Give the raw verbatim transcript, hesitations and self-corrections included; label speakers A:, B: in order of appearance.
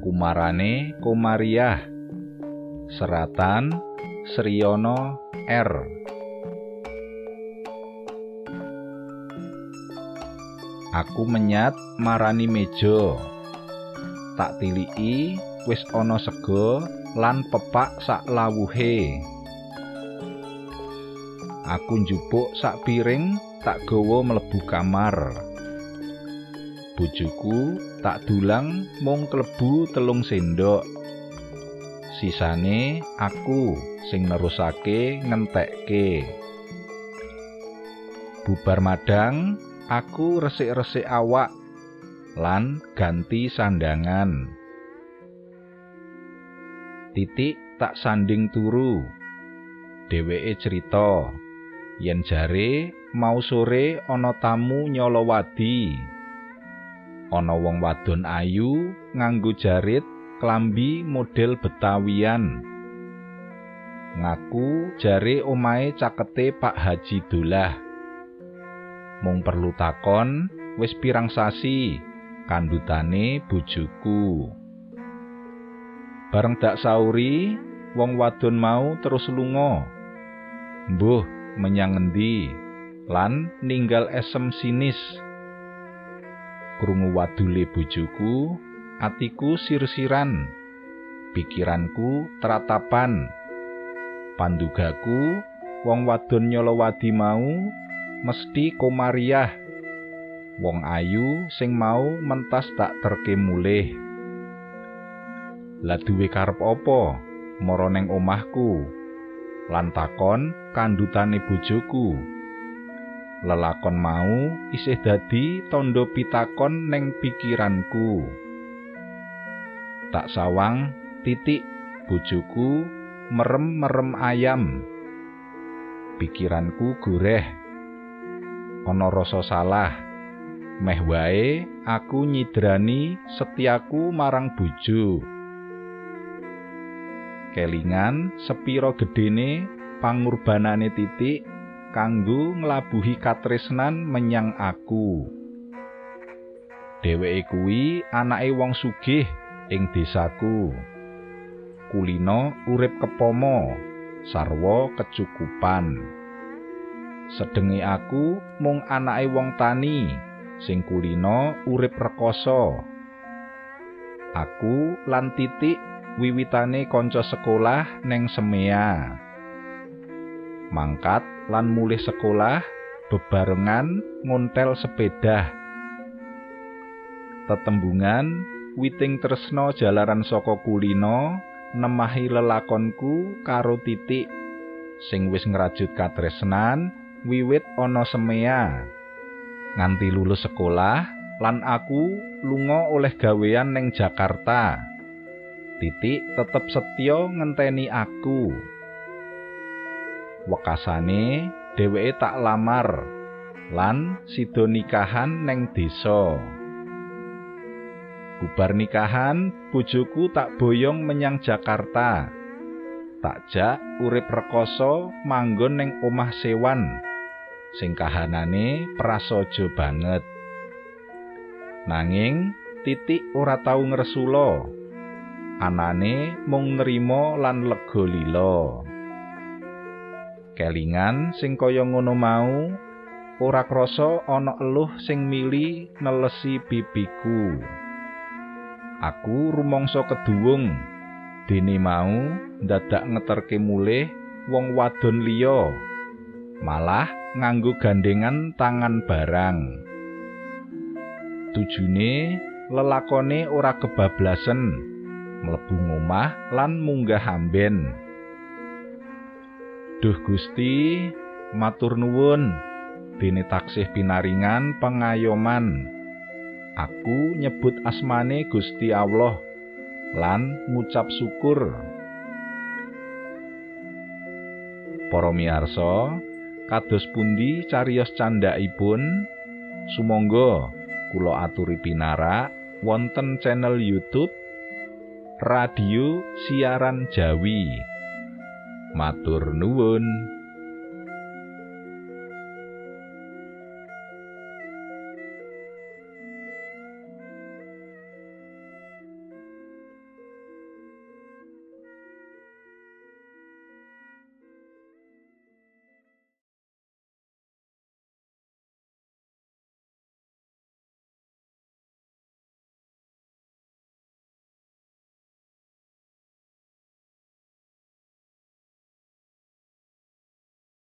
A: Kumarane Komariah. Seratan Sriyono R. Aku menyat marani meja, tak tiliki wis ana sega lan pepak sak lawuhe. Aku njupuk sak piring tak gawa mlebu kamar. Bojoku tak dulang mung klebu telung sendok. Sisane aku sing nerusake ngentekke. Bubar madang, aku resik-resik awak lan ganti sandangan. Titik tak sanding turu. Dheweke cerita yen jare mau sore ana tamu nyolowadi. Ana wong wadon ayu nganggo jarit klambi model Betawian. Ngaku jare omahe cakete Pak Haji Dolah. Mung perlu takon, wis pirang sasi kandhutane bojoku. Bareng dak sauri, wong wadon mau terus lunga. Mbuh menyang endi? Lan ninggal esem sinis. Krungu wadule bojoku, atiku sir-siran, pikiranku teratapan. Pandugaku, wong wadon nyolowadi mau mesti Komariah. Wong ayu sing mau mentas tak terke mulih. Lah duwe karep apa mara neng omahku? Lan takon kandhutane bojoku. Lelakon mau isih dadi tandha pitakon neng pikiranku. Tak sawang titik bojoku merem-merem ayam. Pikiranku goreh. Ana rasa salah. Meh wae aku nyidrani setiaku marang bojo. Kelingan sepiro gedene pangurbanane titik kanggo nglabuhi katresnan menyang aku. Dheweke kuwi anake wong sugih ing desaku. Kulino urip kepomo, sarwa kecukupan. Sedenge aku mung anake wong tani sing kulino urip rekoso. Aku lan titik wiwitane kanca sekolah neng Semea. Mangkat lan mulih sekolah bebarengan ngontel sepeda. Tetembungan witing tresna jalaran saka kulino nemahi lelakonku karo titik sing wis ngrajut katresnan wiwit ana Semea. Nganti lulus sekolah lan aku lunga oleh gawean neng Jakarta. Titik tetep setya ngenteni aku. Wekasane dheweke tak lamar lan sida nikahan neng desa. Bubar nikahan, bojoku tak boyong menyang Jakarta. Tak jak urip rekoso manggon neng omah sewan sing kahanane prasaja banget. Nanging titik ora tau ngresula. Anane mung nrimo lan lega lila. Kelingan sing kaya ngono mau ora krasa ana eluh sing mili nelesi pipiku. Aku rumangsa keduwung dene mau ndadak ngeterke mulih wong wadon liya, malah nganggo gandengan tangan barang. Tujune lelakone ora kebablasen mlebu ngomah lan munggah amben. Duh Gusti, matur nuwun dene taksih pinaringan pengayoman. Aku nyebut asmane Gusti Allah lan ngucap syukur. Para miyarsa, kados pundi cariyos candhakipun? Sumangga kula aturi pinarak wonten channel YouTube Radio Siaran Jawi. Matur nuwun.